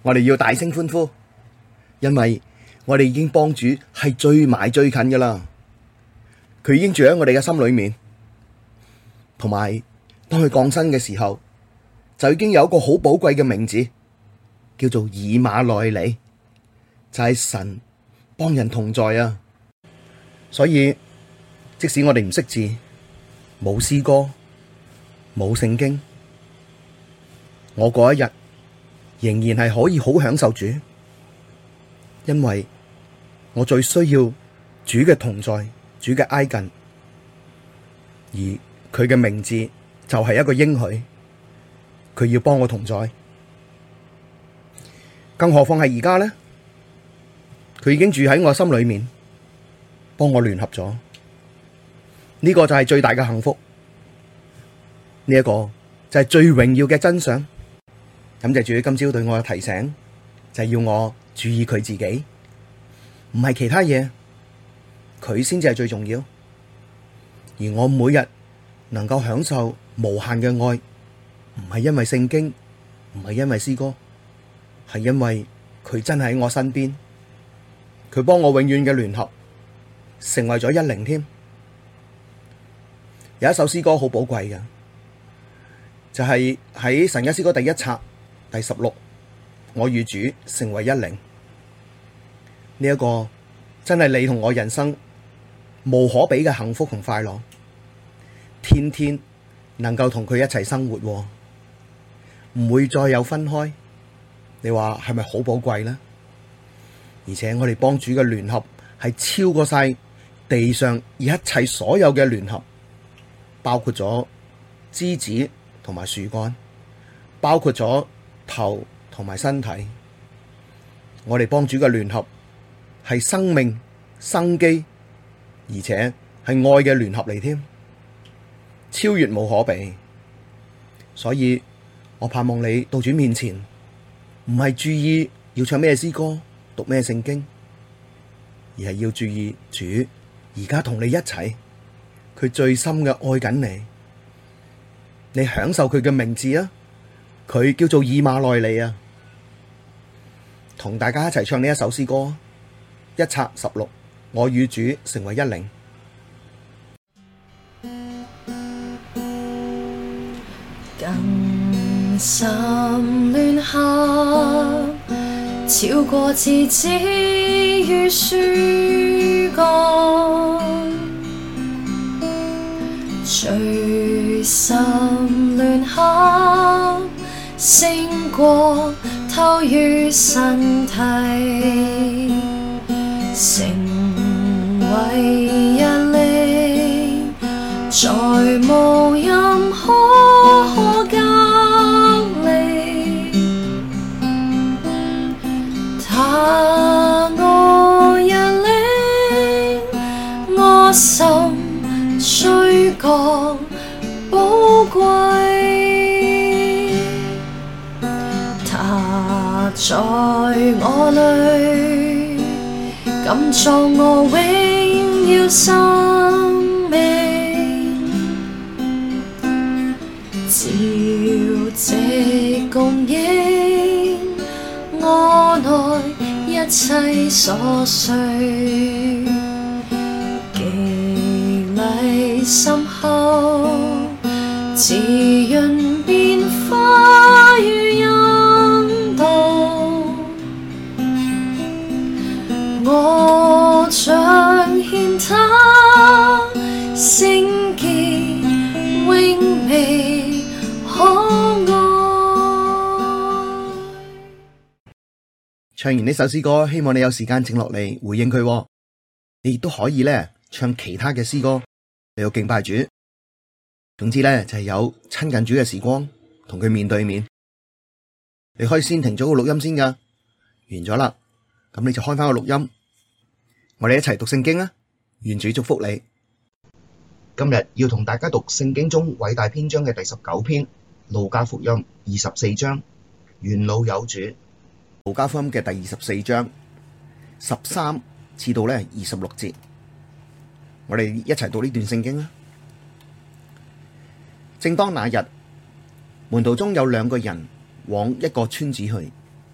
我哋要大聲歡呼，因為我哋已經幫主係最埋最近噶啦，佢已經住喺我哋嘅心裏面，同埋當佢降生嘅時候，就已經有一個好寶貴嘅名字，叫做以馬內利，就係神幫人同在啊！所以即使我哋唔識字，冇詩歌，冇聖經，我嗰一日仍然係可以好享受主，因為我最需要主嘅同在，主嘅挨近，而佢嘅名字就係一個應許，佢要幫我同在，更何況係而家呢？佢已經住喺我心裏面，幫我聯合咗，呢個就係最大嘅幸福，呢一個就係最榮耀嘅真相。感謝主今朝對我嘅提醒，就係要我注意佢自己，唔係其他嘢，佢先至係最重要。而我每日能夠享受無限嘅愛，唔係因為聖經，唔係因為詩歌，係因為佢真係喺我身邊，佢幫我永遠嘅聯合，成為咗一靈添。有一首詩歌好寶貴嘅，就係喺神家詩歌第一冊第16，我與主成為一靈。呢一個真係你同我人生無可比嘅幸福同快樂，天天能夠同佢一齊生活，唔會再有分開。你話係咪好寶貴呢？而且我哋幫主嘅聯合係超過晒地上一切所有嘅聯合，包括咗枝子同埋樹幹，包括咗頭同埋身體。我哋幫主嘅聯合係生命、生機，而且係愛嘅聯合嚟添，超越無可比。所以我盼望你到主面前，唔係注意要唱咩詩歌、讀咩聖經，而係要注意主而家同你一齊，佢最深嘅愛緊你。你享受佢嘅名字啊，佢叫做以馬內利啊。同大家一齊唱呢一首詩歌，一冊16，我與主成為一靈。 更深聯合，超過枝子與樹幹，最深聯合，勝過頭與身體，成為一靈，再無任何可隔離。他我一靈，我心最覺寶貴。他在我裡，今作我榮耀生命，朝夕供應我內一切所需，激勵深厚，滋潤變化與引導，我彰顯他聖潔榮美可愛。 唱完呢首詩歌，希望你有時間靜落嚟回應佢。你亦都可以咧唱其他嘅詩歌嚟到敬拜主。總之咧就係有親近主嘅時光，同佢面對面。你可以先停咗個錄音先噶，完咗啦，咁你就開翻個錄音，我哋一齊讀聖經啊！願主祝福你。今日要同大家讀聖經中偉大篇章嘅第19篇，路加福音24章，元老有主。路加福音嘅第24章13至到咧26節，我哋一齊讀呢段聖經啊！正當那日，門徒中有2個人往一個村子去，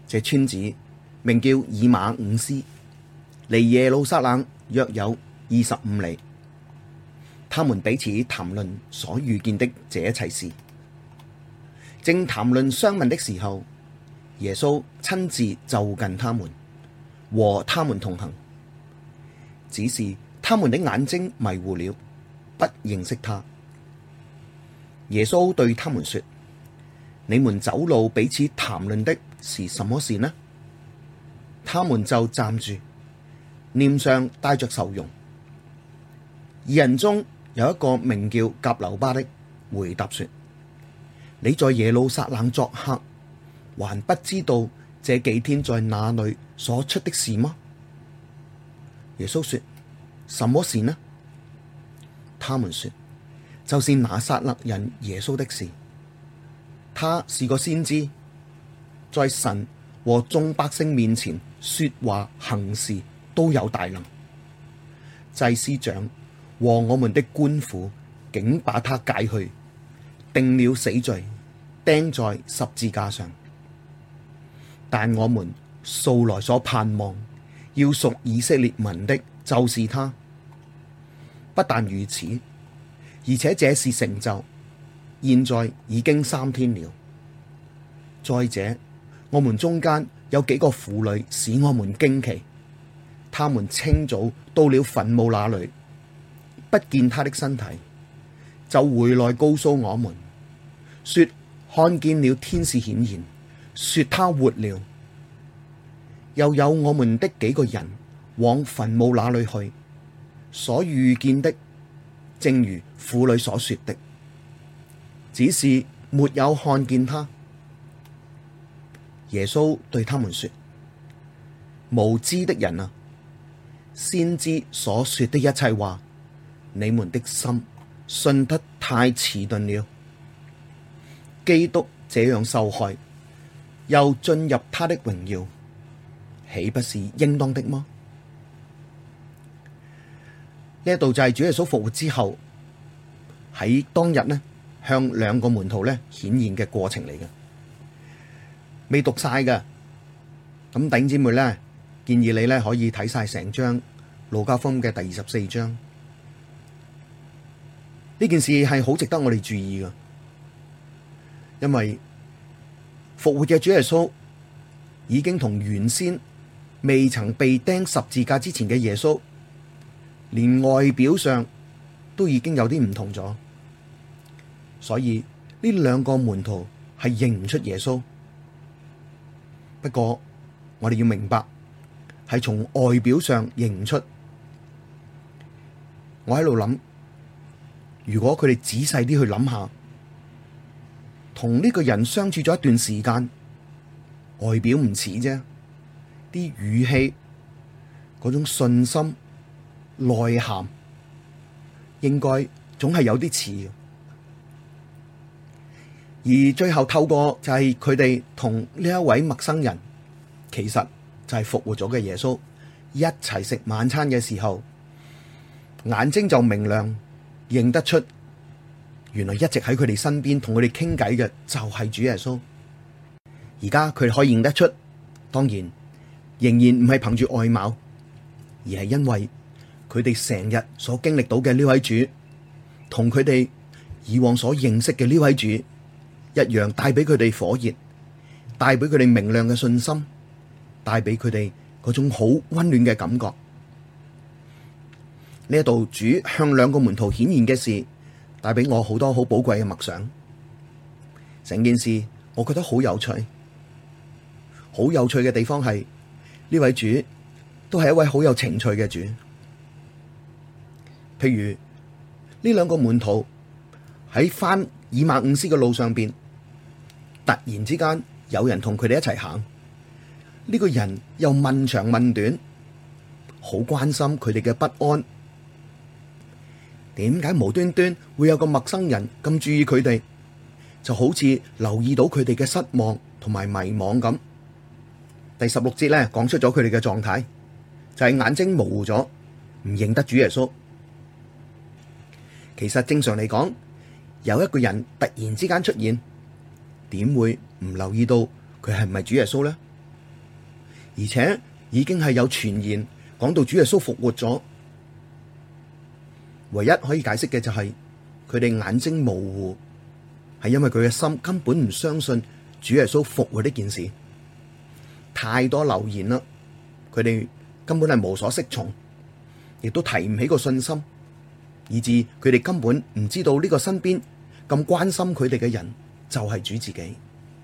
這村子名叫以馬忤斯，離耶路撒冷約有25里。他們彼此談論所遇見的這一切事。正談論相問的時候，耶穌親自就近他們，和他們同行。只是他們的眼睛迷糊了，不認識他。耶穌對他們說：你們走路彼此談論的是什麼事呢？他們就站住，臉上帶着愁容。二人中有一個名叫革流巴的，回答說：你在耶路撒冷作客，還不知道這幾天在那裡所出的事嗎？耶穌說：什麼事呢？他們說：就是拿撒勒人耶穌的事。他是個先知，在神和眾百姓面前說話行事都有大能。祭司長和我們的官府竟把他解去，定了死罪，釘在十字架上。但我們素來所盼望要贖以色列民的，就是他。不但如此，而且這事成就，現在已經3天了。再者，我們中間有幾個婦女使我們驚奇，她們清早到了墳墓那裡，不見他的身體，就回來告訴我們，說看見了天使顯現，說他活了。又有我們的幾個人往墳墓那裡去，所遇見的正如婦女所說的，只是沒有看見他。耶穌對他們說：無知的人啊，先知所說的一切話，你們的心信得太遲鈍了。基督這樣受害，又進入他的榮耀，豈不是應當的嗎？呢一度就係主耶穌復活之後喺當日呢，向2個門徒呢顯現嘅過程嚟嘅，未讀晒㗎。咁弟兄姊妹呢，建議你呢可以睇晒成章路加福音嘅第24章。呢件事係好值得我哋注意㗎，因為復活嘅主耶穌已經同原先未曾被釘十字架之前嘅耶穌，連外表上都已經有啲唔同咗，所以呢2個門徒係認唔出耶穌。不過我哋要明白，係從外表上認唔出。我喺度諗，如果佢哋仔細啲去諗下，同呢個人相處咗一段時間，外表唔似啫，啲語氣、嗰種信心、內涵，應該總係有啲似。而最後透過就係佢哋同呢一位陌生人，其實就係復活咗嘅耶穌一齊食晚餐嘅時候，眼睛就明亮，認得出原來一直喺佢哋身邊同佢哋傾偈嘅就係主耶穌。而家佢哋可以認得出，當然仍然唔係憑住外貌，而係因為佢哋成日所經歷到嘅呢位主，同佢哋以往所認識嘅呢位主一樣，帶俾佢哋火熱，帶俾佢哋明亮嘅信心，帶俾佢哋嗰種好溫暖嘅感覺。呢一度主向2個門徒顯現嘅事，帶俾我好多好寶貴嘅默想。成件事我覺得好有趣，好有趣嘅地方係呢位主都係一位好有情趣嘅主。譬如呢2個門徒喺返以馬忤斯嘅路上邊，突然之間有人同佢哋一齊行，呢個人又問長問短，好關心佢哋嘅不安。點解無端端會有個陌生人咁注意佢哋，就好似留意到佢哋嘅失望同埋迷惘咁。第16節咧講出咗佢哋嘅狀態，就係眼睛模糊咗，唔認得主耶穌。其實正常嚟講，有一個人突然之間出現，點會唔留意到佢係唔係主耶穌呢？ 而且已經係有傳言講到主耶穌復活咗。唯一可以解釋嘅就係佢哋眼睛模糊，係因為佢嘅心根本唔相信主耶穌復活呢件事。太多流言啦，佢哋根本係無所適從，亦都提唔起個信心，以致佢哋根本唔知道呢個身邊咁關心佢哋嘅人就係主自己。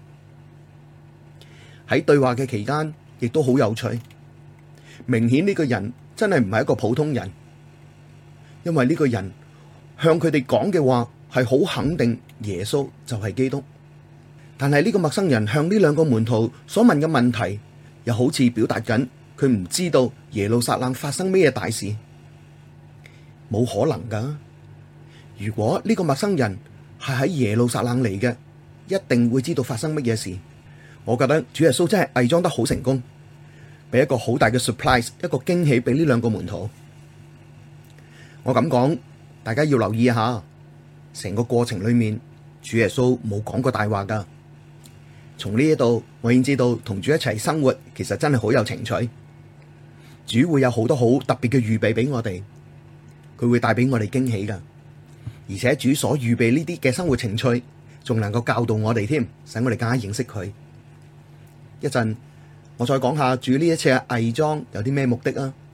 喺對話嘅期間，亦都好有趣，明顯呢個人真係唔係一個普通人，因為呢個人向佢哋講嘅話係好肯定耶穌就係基督。但係呢個陌生人向呢兩個門徒所問嘅問題，又好似表達緊佢唔知道耶路撒冷發生咩大事，冇可能噶。如果呢個陌生人係喺耶路撒冷嚟嘅，一定會知道發生乜嘢事。我覺得主耶穌真係偽裝得好成功，俾一個好大嘅 surprise， 一個驚喜俾呢兩個門徒。我咁講，大家要留意一下，成個過程裏面，主耶穌冇講過大話噶。從呢一度，我已經知道同主一齊生活，其實真係好有情趣。主會有好多好特別嘅預備俾我哋，佢會帶俾我哋驚喜噶。而且主所預備呢啲嘅生活情趣，仲能夠教導我哋添，使我哋更加認識佢。一陣我再講下主呢一次嘅偽裝有啲咩目的啊？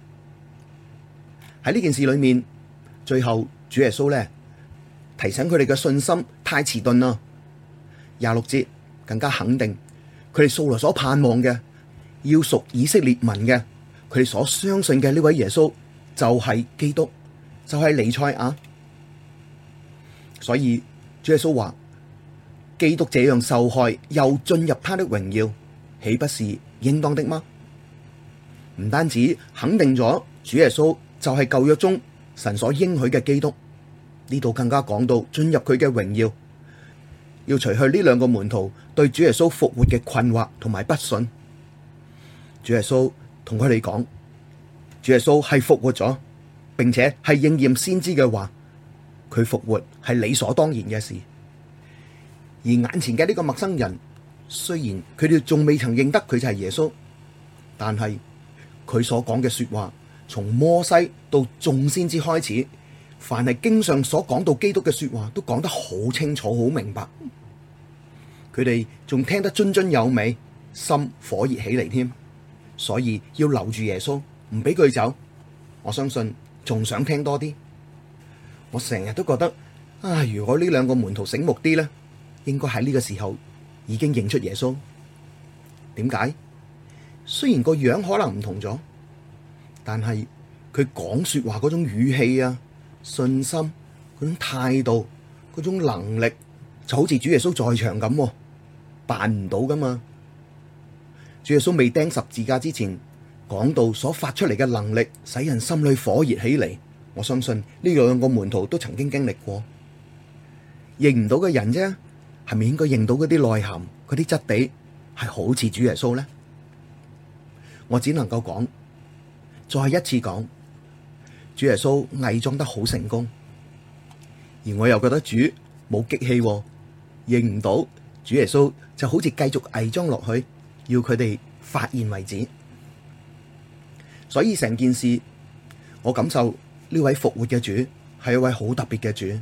喺呢件事裏面，最後主耶穌咧提醒佢哋嘅信心太遲鈍啦。26節更加肯定佢哋素來所盼望嘅，要屬以色列民嘅，佢哋所相信嘅呢位耶穌就係基督，就係彌賽亞。所以主耶穌話：基督這樣受害，又進入他的榮耀，豈不是應當的嗎？唔單止肯定咗主耶穌就係舊約中神所應許嘅基督，呢度更加講到進入佢嘅榮耀，要除去呢兩個門徒對主耶穌復活嘅困惑同埋不信。主耶穌同佢哋講，主耶穌係復活咗，並且係應驗先知嘅話，佢復活係理所當然嘅事。而眼前嘅呢個陌生人，雖然佢哋仲未曾認得佢就係耶穌，但係佢所講嘅說話，從摩西到眾先知開始，凡係經上所講到基督嘅說話，都講得好清楚、好明白。佢哋仲聽得津津有味，心火熱起嚟添，所以要留住耶穌，唔俾佢走。我相信仲想聽多啲。我成日都覺得啊，如果呢兩個門徒醒目啲呢，應該喺呢個時候已經認出耶穌。點解？雖然個樣可能唔同咗，但係佢講說話嗰種語氣啊、信心、嗰種態度、嗰種能力，就好似主耶穌在場咁，扮唔到噶嘛。主耶穌未釘十字架之前，講道所發出嚟嘅能力，使人心裏火熱起嚟。我相信呢兩個門徒都曾經經歷過。認唔到嘅人啫，係咪應該認到嗰啲內涵、嗰啲質地係好似主耶穌呢？我只能夠講，再一次講，主耶穌偽裝得好成功，而我又覺得主冇激氣，認唔到主耶穌就好似繼續偽裝落去，要佢哋發現為止。所以成件事，我感受呢位復活嘅主係一位好特別嘅主。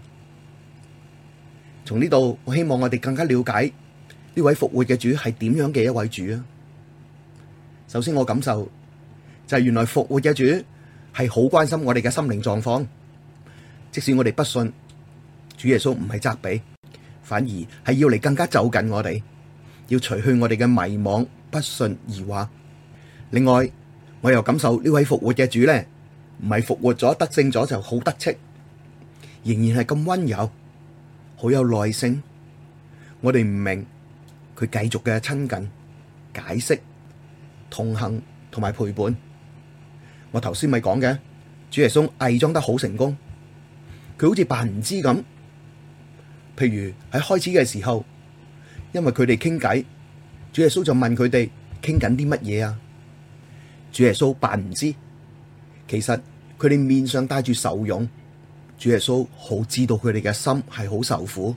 從呢度，我希望我哋更加了解呢位復活嘅主係點樣嘅一位主啊！首先我感受就係原來復活嘅主係好關心我哋嘅心靈狀況，即使我哋不信，主耶穌唔係責備，反而係要嚟更加就近我哋，要除去我哋嘅迷惘、不信、疑惑。另外，我又感受呢位復活嘅主咧，唔係復活咗得勝咗就好得戚，仍然係咁溫柔，好有耐性。我哋唔明，佢繼續嘅親近、解釋、同行同埋陪伴。我頭先咪講嘅，主耶穌偽裝得好成功，佢好似扮唔知咁。譬如喺開始嘅時候，因為佢哋傾偈，主耶穌就問佢哋傾緊啲乜嘢啊？主耶穌扮唔知，其實佢哋面上帶住愁容。主耶穌好知道佢哋嘅心係好受苦，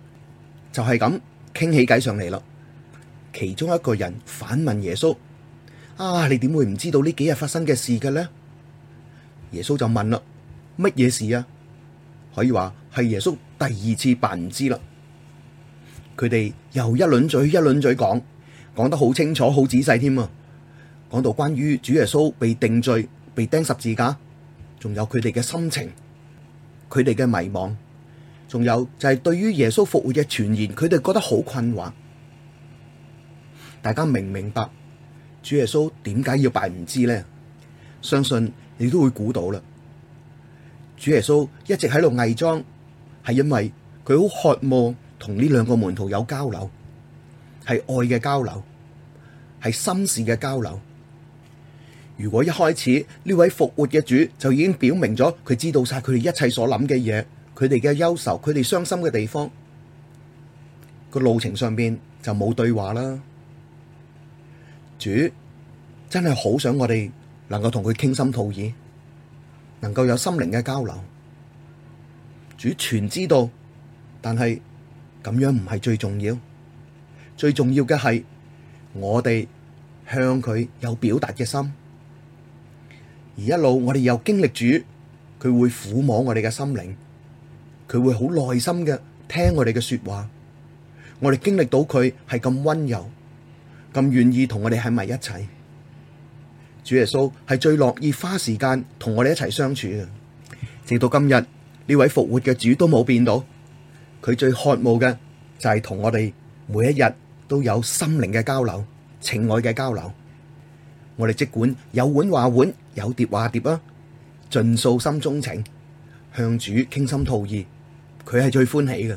就係咁傾起偈上嚟啦。其中一個人反問耶穌： 你點會唔知道呢幾日發生嘅事嘅呢？耶穌就問啦，乜嘢事啊？可以話係耶穌第二次扮唔知啦。佢哋又一輪嘴一輪嘴講得好清楚好仔細添啊！講到關於主耶穌被定罪、被釘十字架，仲有佢哋嘅心情，佢哋嘅迷惘，仲有就係對於耶穌復活嘅傳言，佢哋覺得好困惑。大家明唔明白主耶穌點解要扮唔知呢？相信你都會估到啦。主耶穌一直喺度偽裝，係因為佢好渴望同呢兩個門徒有交流，係愛嘅交流，係心事嘅交流。如果一開始呢位復活嘅主就已經表明咗佢知道晒佢哋一切所諗嘅嘢，佢哋嘅憂愁，佢哋傷心嘅地方，個路程上邊就冇對話啦。主真係好想我哋能夠同佢傾心吐意，能夠有心靈嘅交流。主全知道，但係咁樣唔係最重要，最重要嘅係我哋向佢有表達嘅心。而一路我哋又經歷主，佢會撫摸我哋嘅心靈，佢會好耐心嘅聽我哋嘅說話。我哋經歷到佢係咁溫柔，咁願意同我哋喺埋一齊。主耶穌係最樂意花時間同我哋一齊相處嘅。直到今日呢位復活嘅主都冇變到，佢最渴慕嘅就係同我哋每一日都有心靈嘅交流、情愛嘅交流。我哋即管有碗話碗，有碟話碟啊，盡訴心中情，向主傾心吐意，佢係最歡喜嘅。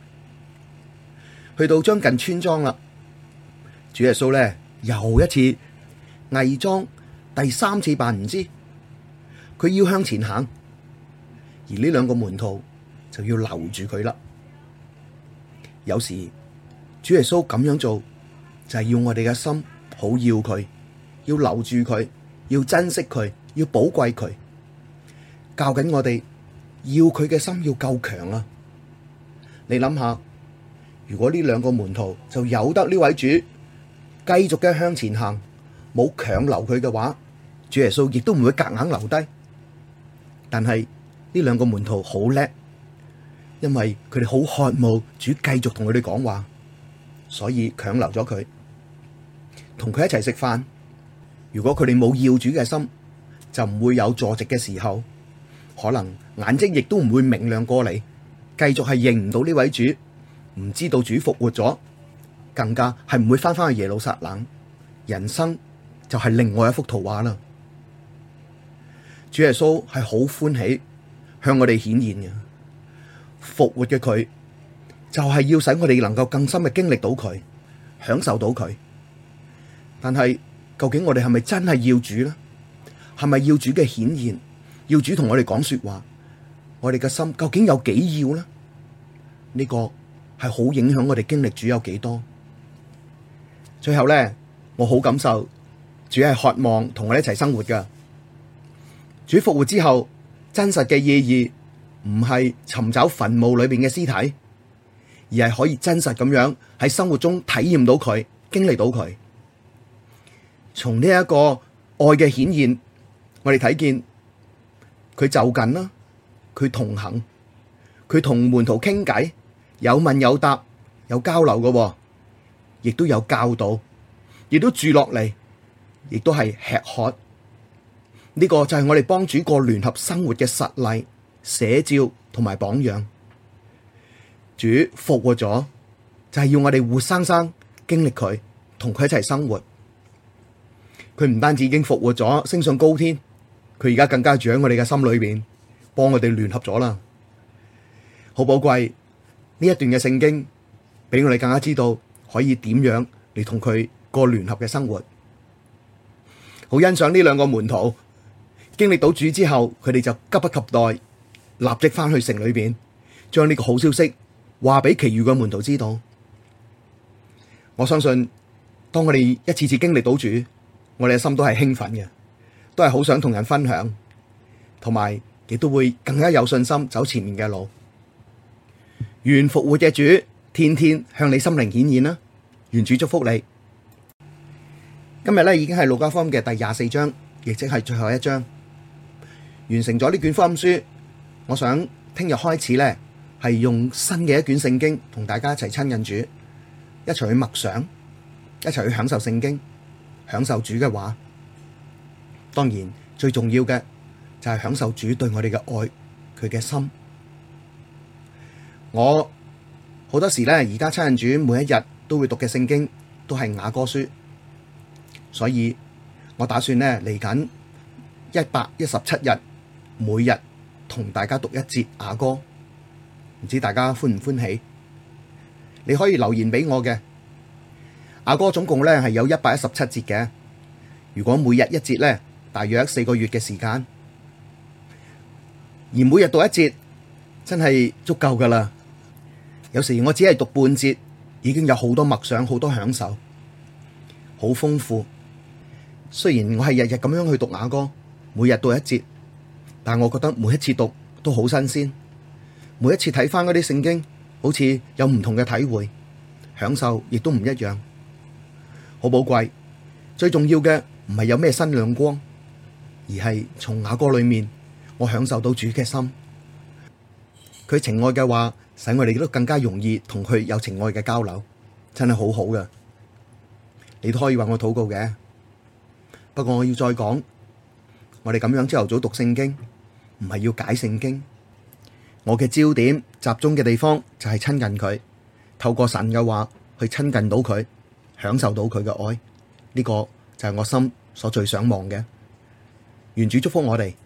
去到將近村莊啦，主耶穌咧又一次偽裝，第三次扮唔知，佢要向前行，而呢兩個門徒就要留住佢啦。有時主耶穌咁樣做，就係要我哋嘅心好要佢，要留住佢，要珍惜佢，要寶貴佢，教緊我哋要佢嘅心要夠強啊！你諗下，如果呢兩個門徒就由得呢位主繼續嘅向前行，冇強留佢嘅話，主耶穌亦都唔會夾硬留低。但係呢兩個門徒好叻，因為佢哋好渴慕主繼續同佢哋講話，所以強留咗佢，同佢一齊食飯。如果佢哋冇要主嘅心，就唔會有坐席嘅時候，可能眼睛亦都唔會明亮過嚟，繼續係認唔到呢位主，唔知道主復活咗，更加係唔會翻返去耶路撒冷，人生就係另外一幅圖畫啦。主耶穌係好歡喜向我哋顯現嘅，復活嘅佢就係要使我哋能夠更深嘅經歷到佢，享受到佢。但係究竟我哋係咪真係要主呢？係咪要主嘅顯現？要主同我哋講說話？我哋嘅心究竟有幾要呢？呢個係好影響我哋經歷主有幾多。最後呢，我好感受主係渴望同我哋一齊生活噶。主復活之後，真實嘅意義唔係尋找墳墓裏邊嘅屍體，而係可以真實咁樣喺生活中體驗到佢，經歷到佢。從呢一個愛嘅顯現，我哋睇見佢就近啦，佢同行，佢同門徒傾偈，有問有答，有交流嘅，亦都有教導，亦都住落嚟，亦都係吃喝。呢個就係我哋幫主過聯合生活嘅實例、寫照同埋榜樣。主復活咗，就係要我哋活生生經歷佢，同佢一齊生活。佢唔單止已經復活咗，升上高天，佢而家更加住喺我哋嘅心裏邊，幫我哋聯合咗啦。好寶貴呢一段嘅聖經，俾我哋更加知道可以點樣嚟同佢過聯合嘅生活。好欣賞呢兩個門徒經歷到主之後，佢哋就急不及待，立即翻去城裏邊，將呢個好消息話俾其餘嘅門徒知道。我相信當我哋一次次經歷到主，我哋嘅心都係興奮嘅，都係好想同人分享，同埋亦都會更加有信心走前面嘅路。願復活嘅主天天向你心靈顯現啦！願主祝福你。 今日咧已經係路加福音嘅第24章，亦即係最後一章，完成咗呢卷福音書。我想聽日開始咧，係用新嘅一卷聖經同大家一齊親近主，一齊去默想，一齊去享受聖經，享受主嘅話。當然最重要嘅就係享受主對我哋嘅愛，佢嘅心。我好多時咧，而家親近主，每一日都會讀嘅聖經都係雅歌書，所以我打算咧嚟緊117日，每日同大家讀一節雅歌，唔知大家歡唔歡喜？你可以留言俾我嘅。雅歌總共咧係有117節嘅，如果每日一節咧，大約4個月嘅時間，而每日讀一節真係足夠噶啦。有時我只係讀半節，已經有好多默想，好多享受，好豐富。雖然我係日日咁樣去讀雅歌，每日讀一節，但我覺得每一次讀都好新鮮，每一次睇翻嗰啲聖經，好似有唔同嘅體會，享受亦都唔一樣，好寶貴。最重要嘅唔係有咩新亮光，而係從雅歌裏面，我享受到主嘅心，佢情愛嘅話，使我哋都更加容易同佢有情愛嘅交流，真係好好㗎。你都可以話我禱告嘅，不過我要再講，我哋咁樣朝頭早讀聖經，唔係要解聖經，我嘅焦點集中嘅地方就係親近佢，透過神嘅話去親近到佢，享受到佢嘅愛，呢個就係我心所最想望嘅。願主祝福我哋。